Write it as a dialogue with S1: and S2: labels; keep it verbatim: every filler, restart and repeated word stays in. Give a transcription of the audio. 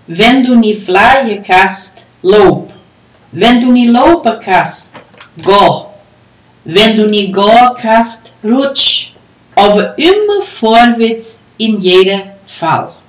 S1: Wenn du niet vlaaien kast, loop. Wenn du niet lopen kast, go. Wenn du niet go kast, rutsch. Aber immer vorwärts in jedem Fall.